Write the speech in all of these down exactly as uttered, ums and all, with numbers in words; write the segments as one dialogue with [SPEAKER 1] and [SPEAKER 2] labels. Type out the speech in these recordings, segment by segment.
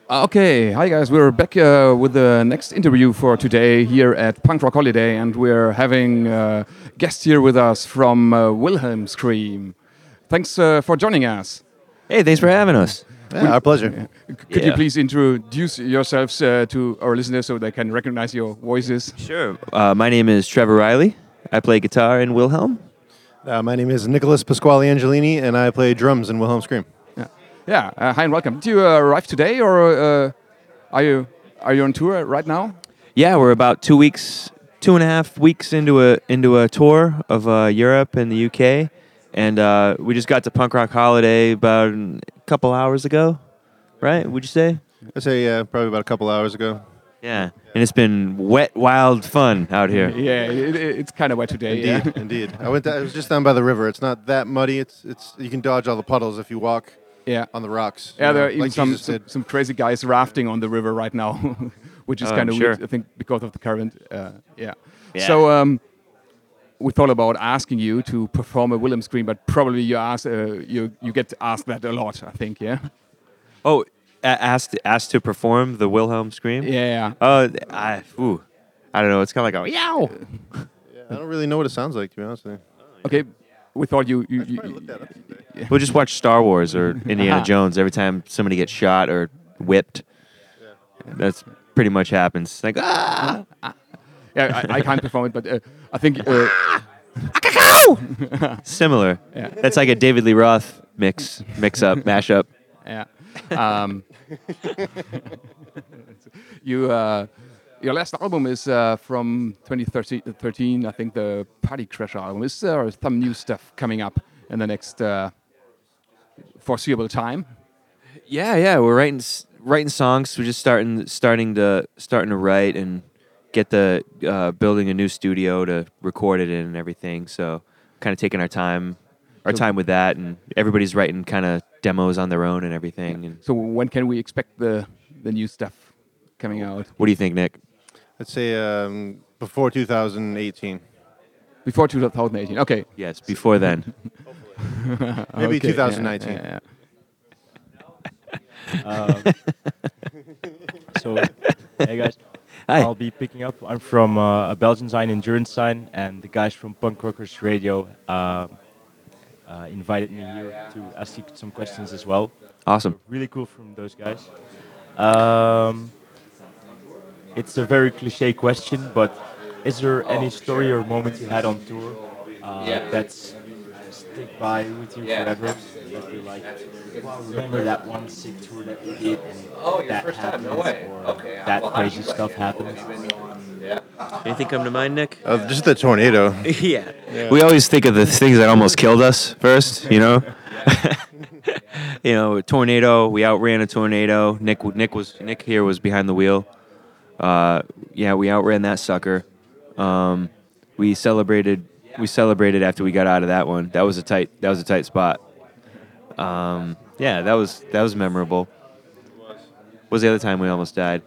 [SPEAKER 1] Okay, hi guys. We're back uh, with the next interview for today here at Punk Rock Holiday, and we're having a guest here with us from uh, Wilhelm Scream. Thanks uh, for joining us.
[SPEAKER 2] Hey, thanks for having us.
[SPEAKER 3] Yeah, our pleasure.
[SPEAKER 1] Could you
[SPEAKER 2] Yeah.
[SPEAKER 1] please introduce yourselves uh, to our listeners so they can recognize your voices?
[SPEAKER 2] Sure. Uh, my name is Trevor Riley. I play guitar in Wilhelm.
[SPEAKER 3] Uh, my name is Nicholas Pasquale Angelini, and I play drums in Wilhelm Scream.
[SPEAKER 1] Yeah. Yeah. Uh, hi and welcome. Did you uh, arrive today, or uh, are you are you on tour right now?
[SPEAKER 2] Yeah, we're about two weeks, two and a half weeks into a into a tour of uh, Europe and the U K, and uh, we just got to Punk Rock Holiday about a couple hours ago, right? Would you say?
[SPEAKER 3] I say, yeah, probably about a couple hours ago.
[SPEAKER 2] Yeah, and it's been wet, wild fun out here.
[SPEAKER 1] Yeah, it, it, it's kind of wet today.
[SPEAKER 3] Indeed,
[SPEAKER 1] Yeah.
[SPEAKER 3] indeed. I went. I was just down by the river. It's not that muddy. It's it's you can dodge all the puddles if you walk
[SPEAKER 1] Yeah.
[SPEAKER 3] on the rocks.
[SPEAKER 1] Yeah,
[SPEAKER 3] you
[SPEAKER 1] there
[SPEAKER 3] know,
[SPEAKER 1] are even
[SPEAKER 3] like
[SPEAKER 1] some,
[SPEAKER 3] Jesus
[SPEAKER 1] some
[SPEAKER 3] did.
[SPEAKER 1] some crazy guys rafting on the river right now, which is
[SPEAKER 2] Oh,
[SPEAKER 1] kind
[SPEAKER 2] I'm
[SPEAKER 1] of
[SPEAKER 2] sure.
[SPEAKER 1] weird. I think because of the current. Uh, yeah.
[SPEAKER 2] Yeah.
[SPEAKER 1] So um, we thought about asking you to perform a Wilhelm Scream, but probably you ask uh, you you get asked that a lot. I think. Yeah.
[SPEAKER 2] Oh, a- asked asked to perform the Wilhelm Scream.
[SPEAKER 1] Yeah.
[SPEAKER 2] Oh, I, ooh, I don't know. It's kind of like a yow.
[SPEAKER 3] Yeah, I don't really know what it sounds like, to be honest with you.
[SPEAKER 1] Okay. We thought you. you,
[SPEAKER 3] I probably
[SPEAKER 1] you
[SPEAKER 3] looked that up today.
[SPEAKER 2] We'll just watch Star Wars or Indiana
[SPEAKER 1] Aha.
[SPEAKER 2] Jones every time somebody gets shot or whipped. That's pretty much happens. Like, ah!
[SPEAKER 1] yeah, I, I can't perform it, but uh, I think. Uh,
[SPEAKER 2] Similar.
[SPEAKER 1] Yeah.
[SPEAKER 2] That's like a David Lee Roth mix, mix up, mash up.
[SPEAKER 1] Yeah. Um, you, uh, your last album is uh, from twenty thirteen, I think, the Party Crasher album. Is there some new stuff coming up in the next uh, foreseeable time?
[SPEAKER 2] Yeah, yeah. We're writing s- writing songs. We're just starting starting to starting to write and get the uh, building a new studio to record it in and everything. So kind of taking our time, our
[SPEAKER 1] So-
[SPEAKER 2] time with that, and everybody's writing kind of demos on their own and everything. And
[SPEAKER 1] So when can we expect the, the new stuff coming out?
[SPEAKER 2] what do you think, Nick?
[SPEAKER 3] Let's say um, before two thousand eighteen,
[SPEAKER 1] Before two thousand eighteen. Okay.
[SPEAKER 2] Yes, before then.
[SPEAKER 3] maybe
[SPEAKER 1] Okay, yeah,
[SPEAKER 3] twenty nineteen.
[SPEAKER 1] yeah, yeah.
[SPEAKER 4] Um, so, hey guys,
[SPEAKER 2] Hi.
[SPEAKER 4] I'll be picking up. I'm from uh, a Belgian sign, Endurance sign, and the guys from Punk Rockers Radio uh, uh, invited me here to ask you some questions as well.
[SPEAKER 2] Awesome.
[SPEAKER 4] Really cool from those guys. Um, it's a very cliche question, but is there any story or moment you had on tour uh, that's stick by with you forever? That you're like, wow, remember that one sick tour that we did and that happened, or that crazy stuff happened?
[SPEAKER 2] Anything come to mind, Nick?
[SPEAKER 3] Uh, just the tornado.
[SPEAKER 2] yeah. We always think of the things that almost killed us first, you know? you know, a tornado, we outran a tornado. Nick Nick was Nick here was behind the wheel. Uh, yeah, we outran that sucker. Um, we celebrated we celebrated after we got out of that one. That was a tight that was a tight spot. Um, yeah, that was that was memorable. What was the other time we almost died?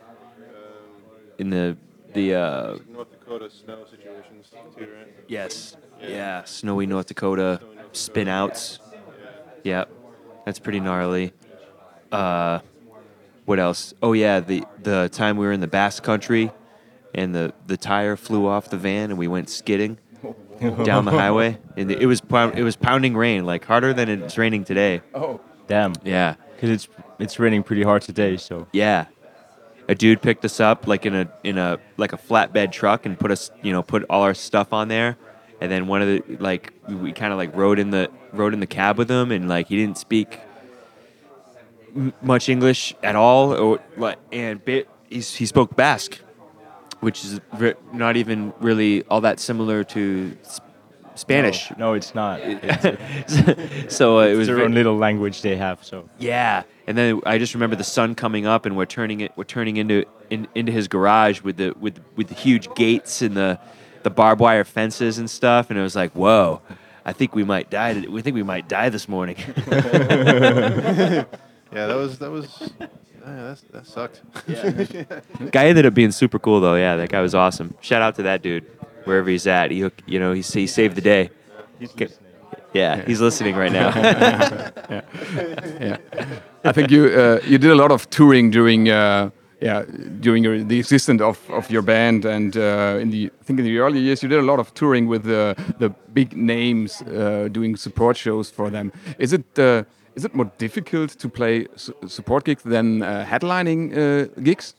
[SPEAKER 2] In the the uh,
[SPEAKER 3] North Dakota snow situations, too, right?
[SPEAKER 2] Yes. Yeah. Snowy North Dakota spin outs. Yep. That's pretty gnarly. Uh, what else? Oh yeah, the the time we were in the Basque Country, and the, the tire flew off the van, and we went skidding down the highway, and it was pound, it was pounding rain, like harder than it's raining today.
[SPEAKER 1] Oh.
[SPEAKER 4] Damn,
[SPEAKER 2] Yeah.
[SPEAKER 4] because it's it's raining pretty hard today. So
[SPEAKER 2] Yeah. A dude picked us up like in a in a like a flatbed truck and put us, you know, put all our stuff on there. And then one of the like we, we kind of like rode in the rode in the cab with him, and like he didn't speak m- much English at all, or like and bit he's, he spoke Basque, which is re- not even really all that similar to s- Spanish.
[SPEAKER 4] No, no, it's not. It's,
[SPEAKER 2] so uh, it
[SPEAKER 4] it's
[SPEAKER 2] was
[SPEAKER 4] their
[SPEAKER 2] ve-
[SPEAKER 4] own little language they have. So
[SPEAKER 2] Yeah, and then I just remember the sun coming up, and we're turning it. We're turning into in, into his garage with the with with the huge gates and the the barbed wire fences and stuff, and it was like, whoa, I think we might die. We think we might die this morning.
[SPEAKER 3] Yeah, that was that was. Yeah, that's, that sucked.
[SPEAKER 2] Guy ended up being super cool though. Yeah, that guy was awesome. Shout out to that dude, wherever he's at. He, hook- you know, he, he saved the day.
[SPEAKER 4] he's
[SPEAKER 2] Okay.
[SPEAKER 4] listening.
[SPEAKER 2] Yeah, he's listening right now.
[SPEAKER 1] Yeah, I think you uh, you did a lot of touring during uh, yeah during your, the existence of, of your band, and uh, in the I think in the early years you did a lot of touring with the the big names, uh, doing support shows for them. Is it uh, is it more difficult to play su support gigs than uh, headlining uh, gigs?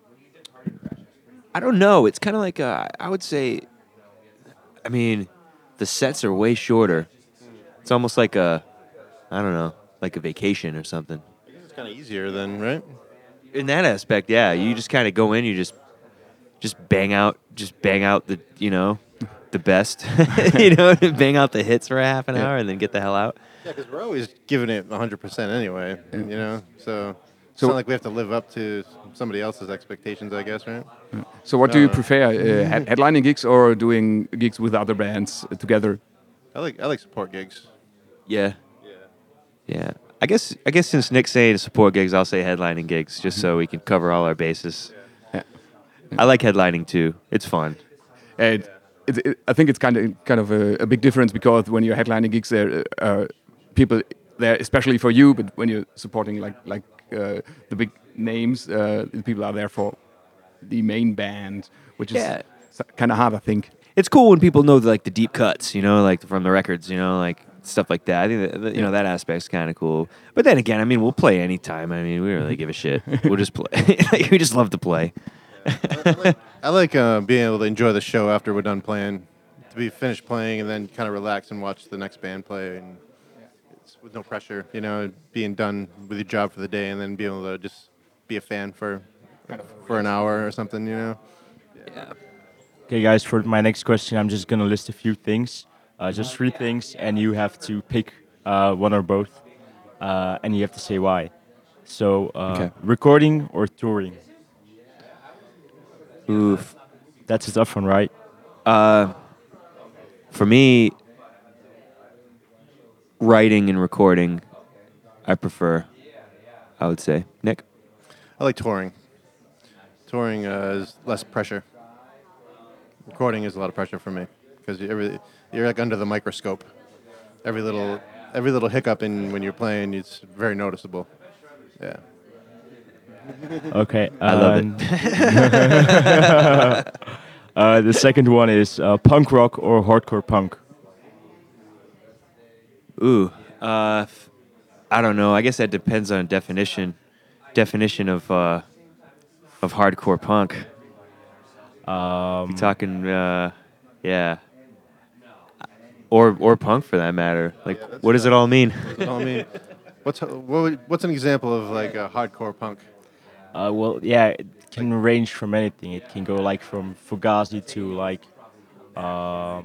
[SPEAKER 2] I don't know. It's kind of like a, I would say, I mean, the sets are way shorter. It's almost like a, I don't know, like a vacation or something.
[SPEAKER 3] It's kind of easier then, right?
[SPEAKER 2] In that aspect, yeah, you just kind of go in, you just, just bang out, just bang out the, you know, the best, you know, bang out the hits for a half an
[SPEAKER 1] Yeah.
[SPEAKER 2] hour and then get the hell out.
[SPEAKER 3] Yeah, because we're always giving it one hundred percent anyway, you know? So it's
[SPEAKER 1] So-
[SPEAKER 3] not like we have to live up to somebody else's expectations, I guess, right?
[SPEAKER 1] So what do you
[SPEAKER 3] Uh,
[SPEAKER 1] prefer, uh, head headlining gigs or doing gigs with other bands uh, together?
[SPEAKER 3] I like I like support gigs.
[SPEAKER 2] Yeah. Yeah. I guess I guess since Nick's saying support gigs, I'll say headlining gigs, just so we can cover all our bases.
[SPEAKER 1] Yeah.
[SPEAKER 2] I like headlining too. It's fun.
[SPEAKER 1] And it, it, I think it's kind of kind of a, a big difference, because when you're headlining gigs, there are people there, especially for you. But when you're supporting like like uh, the big names, uh, the people are there for the main band, which is
[SPEAKER 2] Yeah.
[SPEAKER 1] kind of hard, I think.
[SPEAKER 2] It's cool when people know like the deep cuts, you know, like from the records, you know, like stuff like that. I think that, that, you know that aspect's kind of cool. But then again, I mean, we'll play anytime. I mean, we don't really give a shit. We'll just play. Like, we just love to play.
[SPEAKER 3] I like uh, being able to enjoy the show after we're done playing, to be finished playing and then kind of relax and watch the next band play, and it's with no pressure, you know, being done with your job for the day and then being able to just be a fan for for an hour or something, you know.
[SPEAKER 2] Yeah.
[SPEAKER 4] Okay, guys, for my next question, I'm just going to list a few things, uh, just three things, and you have to pick uh, one or both, uh, and you have to say why. So, uh,
[SPEAKER 1] Okay.
[SPEAKER 4] recording or touring?
[SPEAKER 2] Oof.
[SPEAKER 4] That's a tough one, right?
[SPEAKER 2] Uh, for me, writing and recording, I prefer. I would say, Nick.
[SPEAKER 3] I like touring. Touring uh, is less pressure. Recording is a lot of pressure for me, because you every, you're like under the microscope. Every little every little hiccup in when you're playing, it's very noticeable. Yeah.
[SPEAKER 4] Okay.
[SPEAKER 2] I love it.
[SPEAKER 4] um, uh, the second one is uh, punk rock or hardcore punk?
[SPEAKER 2] Ooh. Uh, f- I don't know. I guess that depends on definition. Definition of uh, of hardcore punk.
[SPEAKER 4] Um,
[SPEAKER 2] You talking? Uh, yeah. Or or punk for that matter. Like,
[SPEAKER 3] that's
[SPEAKER 2] what does it all mean?
[SPEAKER 3] I mean, what's what would, what's an example of like a hardcore punk?
[SPEAKER 4] Uh, well, yeah, it can range from anything. It can go like from Fugazi to like um,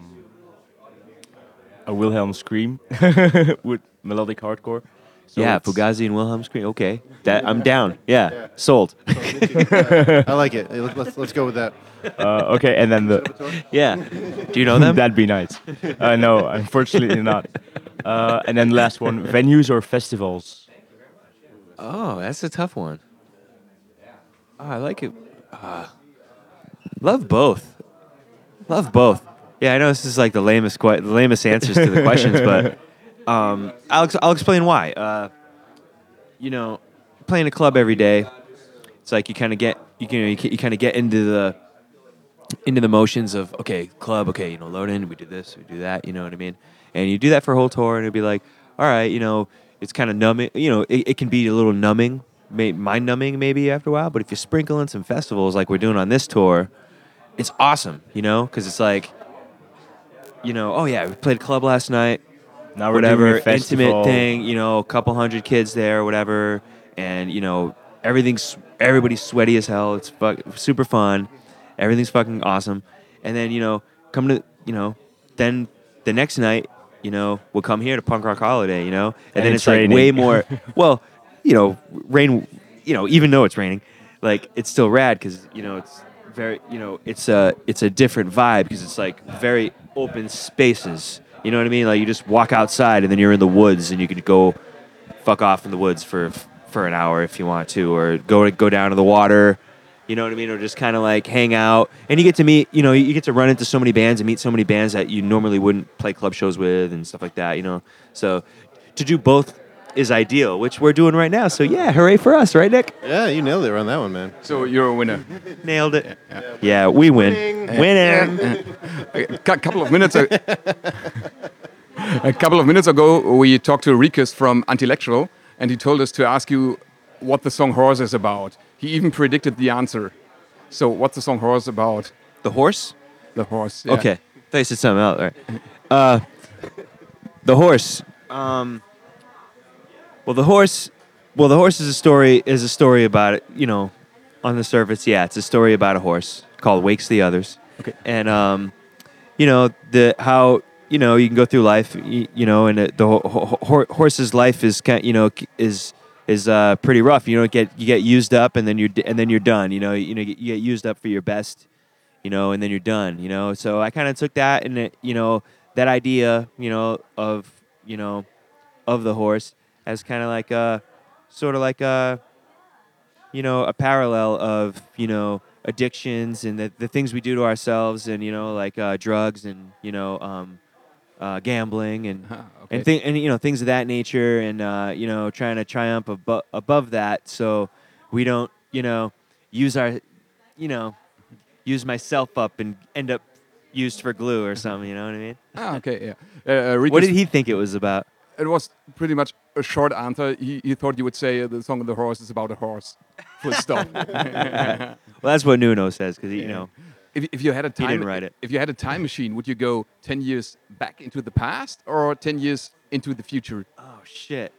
[SPEAKER 4] a Wilhelm scream with melodic hardcore. So
[SPEAKER 2] yeah,
[SPEAKER 4] it's-
[SPEAKER 2] Fugazi and Wilhelm scream. Okay, that I'm down. Yeah, sold.
[SPEAKER 3] I like it. Let's let's, let's go with that.
[SPEAKER 4] Uh, okay, and then the
[SPEAKER 2] Yeah. Do you know them?
[SPEAKER 4] that'd be nice. Uh, no, unfortunately not. Uh, and then last one, venues or festivals?
[SPEAKER 2] Oh, that's a tough one. Oh, I like it. Uh, love both. Love both. Yeah, I know this is like the lamest, que- the lamest answers to the questions, but um, I'll ex- I'll explain why. Uh, you know, playing a club every day, it's like you kind of get you can you, you kind of get into the into the motions of, okay, club, okay, you know, load in, we do this, we do that, you know what I mean? And you do that for a whole tour, and it'd be like, all right, you know, it's kind of numbing, you know, it, it can be a little numbing, may, mind numbing maybe after a while, but if you sprinkle in some festivals like we're doing on this tour, it's awesome, you know, because it's like, you know, oh yeah, we played a club last night,
[SPEAKER 4] Now we're
[SPEAKER 2] whatever,
[SPEAKER 4] doing a festival.
[SPEAKER 2] intimate thing, you know, a couple hundred kids there, whatever, and, you know, everything's, everybody's sweaty as hell, it's fuck, super fun, everything's fucking awesome, and then, you know, come to, you know, then the next night, you know, we'll come here to Punk Rock Holiday, you know, and,
[SPEAKER 4] And
[SPEAKER 2] then
[SPEAKER 4] it's
[SPEAKER 2] it's, like
[SPEAKER 4] raining.
[SPEAKER 2] way more, well, you know, rain, you know, even though it's raining, like, it's still rad, because, you know, it's very, you know, it's a, it's a different vibe, because it's like very open spaces, you know what I mean? Like, you just walk outside, and then you're in the woods, and you could go fuck off in the woods for for an hour if you want to, or go go down to the water, You know what I mean? Or just kind of like hang out. And you get to meet, you know, you get to run into so many bands and meet so many bands that you normally wouldn't play club shows with and stuff like that, you know? So to do both is ideal, which we're doing right now. So yeah, hooray for us, right, Nick?
[SPEAKER 3] Yeah, you nailed it on that one, man.
[SPEAKER 1] So you're a winner.
[SPEAKER 2] Nailed it. Yeah, yeah we win. Winning.
[SPEAKER 1] A cou- couple of minutes. A, a couple of minutes ago, we talked to Rikus from Antilectual, and he told us to ask you what the song "Horse" is about. He even predicted the answer. So, what's the song "Horse" about?
[SPEAKER 2] The horse?
[SPEAKER 1] The horse. Yeah.
[SPEAKER 2] Okay. I thought you said something else. All right. Uh, the horse. Um, well, the horse. Well, the horse is a story. Is a story about it. You know, on the surface, yeah, it's a story about a horse called "Wakes the Others."
[SPEAKER 1] Okay.
[SPEAKER 2] And um, you know the how you know you can go through life. You, you know, and the, the ho- ho- horse's life is kind. You know, is is uh, pretty rough. You know, get you get used up, and then you're and then you're done. You know, you know, you get used up for your best. You know, and then you're done. You know, so I kind of took that and it, you know that idea. You know of you know of the horse as kind of like a sort of like a you know a parallel of you know addictions and the the things we do to ourselves and you know like uh, drugs and you know um, uh, gambling and
[SPEAKER 1] Ah, okay.
[SPEAKER 2] and thi- and you know things of that nature and uh, you know trying to triumph abo- above that so we don't you know use our you know use myself up and end up used for glue or something. You know what I mean?
[SPEAKER 1] Ah, okay. Yeah. Uh, uh, Rikus,
[SPEAKER 2] What did he think it was about?
[SPEAKER 1] It was pretty much a short answer. He, he thought you would say uh, the song "The Horse" is about a horse. Full stop.
[SPEAKER 2] Well, that's what Nuno says because you know
[SPEAKER 1] If, if you had a time,
[SPEAKER 2] didn't write it.
[SPEAKER 1] if you had a time machine, would you go ten years back into the past or ten years into the future?
[SPEAKER 2] oh shit.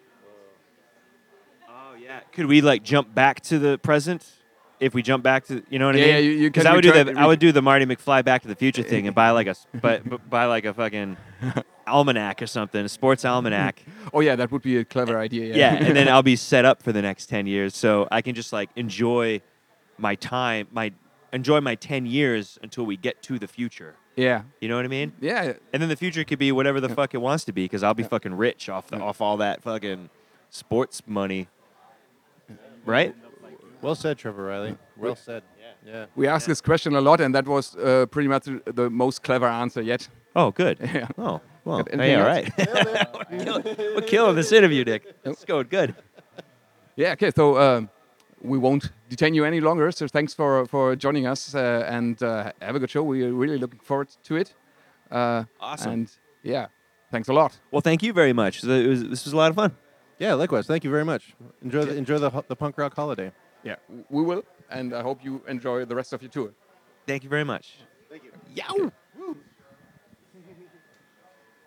[SPEAKER 2] Oh yeah. Could we like jump back to the present? If we jump back to, you know what
[SPEAKER 1] Yeah,
[SPEAKER 2] I mean?
[SPEAKER 1] yeah, you- you
[SPEAKER 2] Because
[SPEAKER 1] can
[SPEAKER 2] I would do
[SPEAKER 1] return-
[SPEAKER 2] the I would do the Marty McFly Back to the Future thing and buy like a s- but but buy like a fucking almanac or something, a sports almanac.
[SPEAKER 1] Oh yeah, that would be a clever idea. Yeah.
[SPEAKER 2] Yeah, and then I'll be set up for the next ten years, so I can just like enjoy my time, my enjoy my ten years until we get to the future.
[SPEAKER 1] yeah,
[SPEAKER 2] You know what I mean?
[SPEAKER 1] yeah.
[SPEAKER 2] And then the future could be whatever the fuck it wants to be, because I'll be fucking rich off the off all that fucking sports money, right?
[SPEAKER 3] Well said, Trevor Riley. Well said. Yeah.
[SPEAKER 1] We asked this question a lot, and that was uh, pretty much the- the most clever answer yet.
[SPEAKER 2] Oh, good.
[SPEAKER 1] Yeah.
[SPEAKER 2] Oh, well,
[SPEAKER 1] Got anything
[SPEAKER 2] hey, all
[SPEAKER 1] else?
[SPEAKER 2] right. we're, killing, we're killing this interview, Nick. It's going good.
[SPEAKER 1] Yeah. Okay. So um, we won't detain you any longer. So thanks for for joining us, uh, and uh, have a good show. We are really looking forward to it. Uh,
[SPEAKER 2] Awesome.
[SPEAKER 1] And yeah, thanks a lot.
[SPEAKER 2] Well, thank you very much. It was, this was a lot of fun.
[SPEAKER 3] Yeah, likewise. Thank you very much. Enjoy the enjoy the ho- the punk rock holiday.
[SPEAKER 1] Yeah, we will, and I hope you enjoy the rest of your tour.
[SPEAKER 2] Thank you very much. Thank you. Yow.